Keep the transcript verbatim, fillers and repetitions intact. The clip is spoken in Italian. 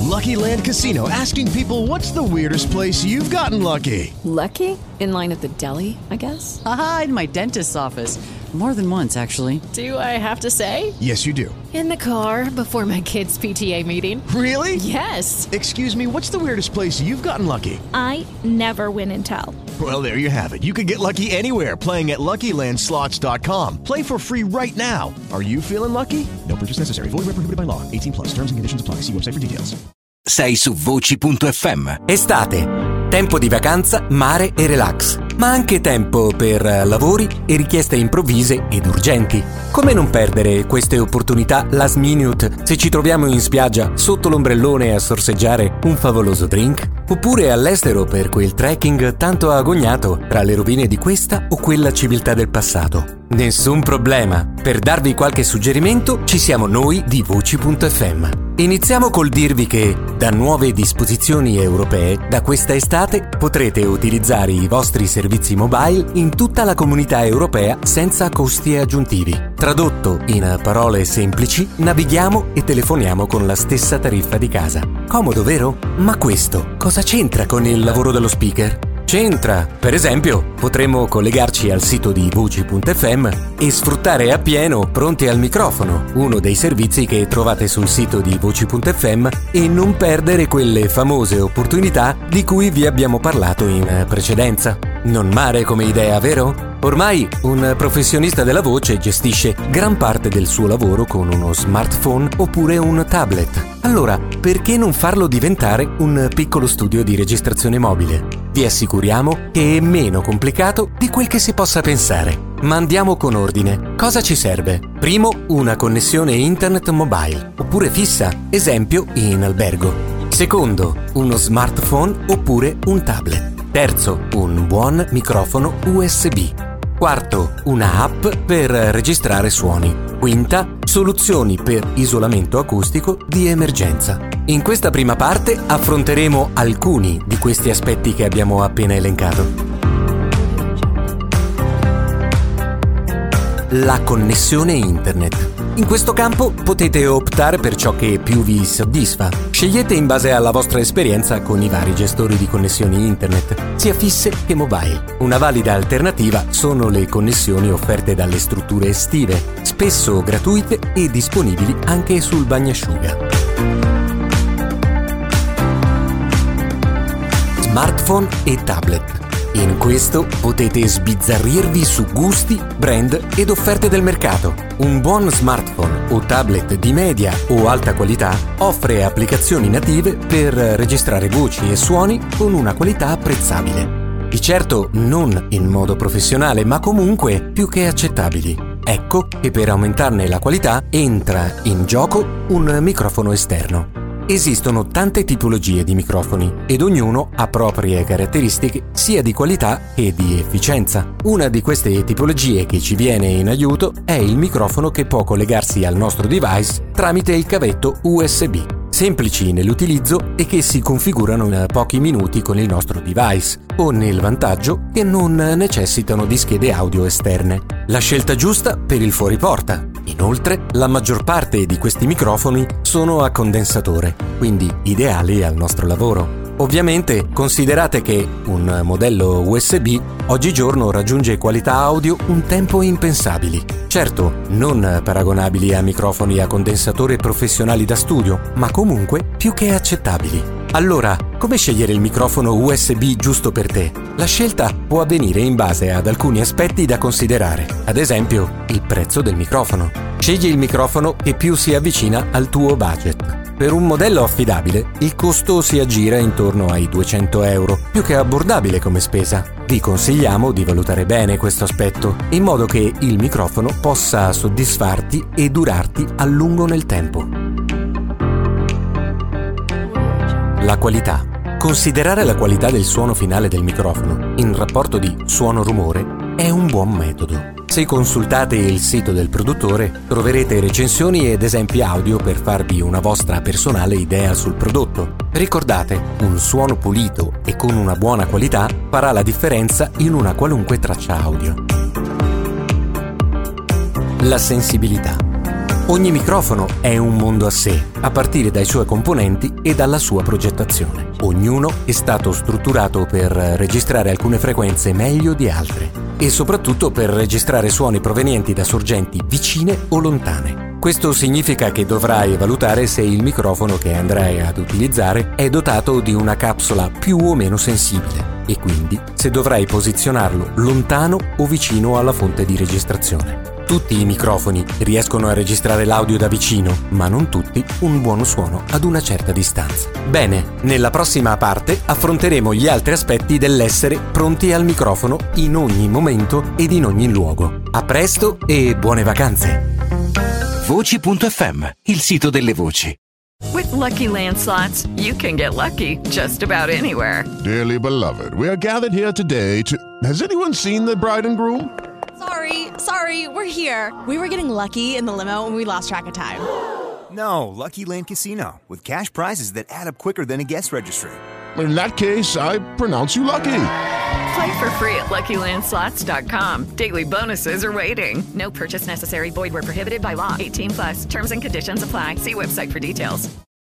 Lucky Land Casino, asking people, what's the weirdest place you've gotten lucky? Lucky? In line at the deli, I guess? Aha, in my dentist's office. More than once, actually. Do I have to say? Yes, you do. In the car before my kids' P T A meeting. Really? Yes. Excuse me, what's the weirdest place you've gotten lucky? I never win and tell. Well, there you have it. You can get lucky anywhere, playing at Lucky Land Slots dot com. Play for free right now. Are you feeling lucky? No purchase necessary. Void where prohibited by law. eighteen plus. Terms and conditions apply. See website for details. Sei su voci punto effe emme. Estate. Tempo di vacanza, mare e relax, ma anche tempo per lavori e richieste improvvise ed urgenti. Come non perdere queste opportunità last minute se ci troviamo in spiaggia sotto l'ombrellone a sorseggiare un favoloso drink? Oppure all'estero per quel trekking tanto agognato tra le rovine di questa o quella civiltà del passato? Nessun problema. Per darvi qualche suggerimento ci siamo noi di voci punto effe emme. Iniziamo col dirvi che, da nuove disposizioni europee, da questa estate potrete utilizzare i vostri servizi mobile in tutta la comunità europea senza costi aggiuntivi. Tradotto in parole semplici, navighiamo e telefoniamo con la stessa tariffa di casa. Comodo, vero? Ma questo cosa c'entra con il lavoro dello speaker? C'entra! Per esempio, potremo collegarci al sito di voci punto effe emme e sfruttare appieno Pronti al microfono, uno dei servizi che trovate sul sito di voci punto effe emme, e non perdere quelle famose opportunità di cui vi abbiamo parlato in precedenza. Non male come idea, vero? Ormai un professionista della voce gestisce gran parte del suo lavoro con uno smartphone oppure un tablet. Allora, perché non farlo diventare un piccolo studio di registrazione mobile? Vi assicuriamo che è meno complicato di quel che si possa pensare. Ma andiamo con ordine. Cosa ci serve? Primo, una connessione internet mobile, oppure fissa, esempio in albergo. Secondo, uno smartphone oppure un tablet. Terzo, un buon microfono U S B. Quarto, una app per registrare suoni. Quinta, soluzioni per isolamento acustico di emergenza. In questa prima parte affronteremo alcuni di questi aspetti che abbiamo appena elencato. La connessione internet. In questo campo potete optare per ciò che più vi soddisfa. Scegliete in base alla vostra esperienza con i vari gestori di connessioni internet, sia fisse che mobile. Una valida alternativa sono le connessioni offerte dalle strutture estive, spesso gratuite e disponibili anche sul bagnasciuga. Smartphone e tablet. In questo potete sbizzarrirvi su gusti, brand ed offerte del mercato. Un buon smartphone o tablet di media o alta qualità offre applicazioni native per registrare voci e suoni con una qualità apprezzabile. Di certo non in modo professionale, ma comunque più che accettabili. Ecco che per aumentarne la qualità entra in gioco un microfono esterno. Esistono tante tipologie di microfoni ed ognuno ha proprie caratteristiche sia di qualità che di efficienza. Una di queste tipologie che ci viene in aiuto è il microfono che può collegarsi al nostro device tramite il cavetto U S B. Semplici nell'utilizzo e che si configurano in pochi minuti con il nostro device, con il vantaggio che non necessitano di schede audio esterne. La scelta giusta per il fuoriporta. Inoltre, la maggior parte di questi microfoni sono a condensatore, quindi ideali al nostro lavoro. Ovviamente considerate che un modello U S B oggigiorno raggiunge qualità audio un tempo impensabili. Certo, non paragonabili a microfoni a condensatore professionali da studio, ma comunque più che accettabili. Allora, come scegliere il microfono U S B giusto per te? La scelta può avvenire in base ad alcuni aspetti da considerare, ad esempio il prezzo del microfono. Scegli il microfono che più si avvicina al tuo budget. Per un modello affidabile, il costo si aggira intorno ai duecento euro, più che abbordabile come spesa. Vi consigliamo di valutare bene questo aspetto, in modo che il microfono possa soddisfarti e durarti a lungo nel tempo. La qualità. Considerare la qualità del suono finale del microfono in rapporto di suono-rumore è un buon metodo. Se consultate il sito del produttore, troverete recensioni ed esempi audio per farvi una vostra personale idea sul prodotto. Ricordate, un suono pulito e con una buona qualità farà la differenza in una qualunque traccia audio. La sensibilità. Ogni microfono è un mondo a sé, a partire dai suoi componenti e dalla sua progettazione. Ognuno è stato strutturato per registrare alcune frequenze meglio di altre e soprattutto per registrare suoni provenienti da sorgenti vicine o lontane. Questo significa che dovrai valutare se il microfono che andrai ad utilizzare è dotato di una capsula più o meno sensibile e quindi se dovrai posizionarlo lontano o vicino alla fonte di registrazione. Tutti i microfoni riescono a registrare l'audio da vicino, ma non tutti un buono suono ad una certa distanza. Bene, nella prossima parte affronteremo gli altri aspetti dell'essere pronti al microfono in ogni momento ed in ogni luogo. A presto e buone vacanze! Voci punto effe emme, il sito delle voci. With Lucky Land Slots, you can get lucky just about anywhere. Dearly beloved, we are gathered here today to... Has anyone seen the bride and groom? Sorry, sorry, we're here. We were getting lucky in the limo and we lost track of time. No, Lucky Land Casino, with cash prizes that add up quicker than a guest registry. In that case, I pronounce you lucky. Play for free at lucky land slots dot com. Daily bonuses are waiting. No purchase necessary. Void where prohibited by law. eighteen plus. Terms and conditions apply. See website for details.